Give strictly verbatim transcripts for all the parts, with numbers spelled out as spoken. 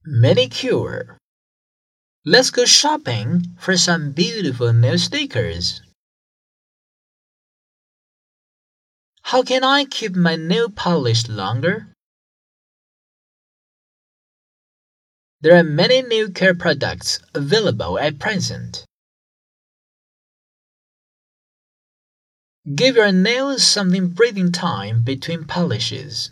Manicure. Let's go shopping for some beautiful nail stickers. How can I keep my nail polish longer? There are many nail care products available at present. Give your nails some breathing time between polishes.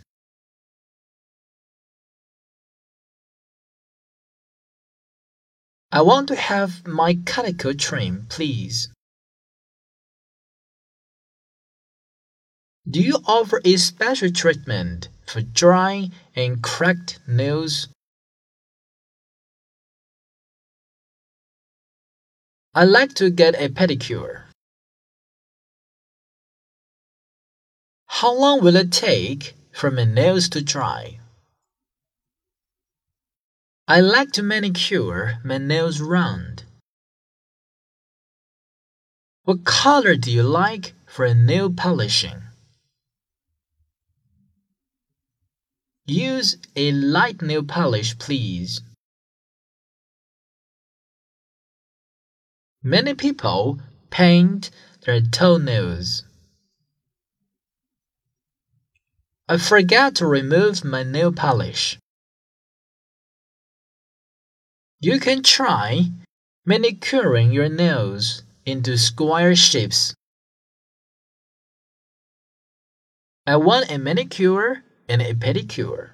I want to have my cuticle trimmed, please. Do you offer a special treatment for dry and cracked nails? I'd like to get a pedicure. How long will it take for my nails to dry? I like to manicure my nails round. What color do you like for nail polishing? Use a light nail polish, please. Many people paint their toenails. I forgot to remove my nail polish. You can try manicuring your nails into square shapes. I want a manicure and a pedicure.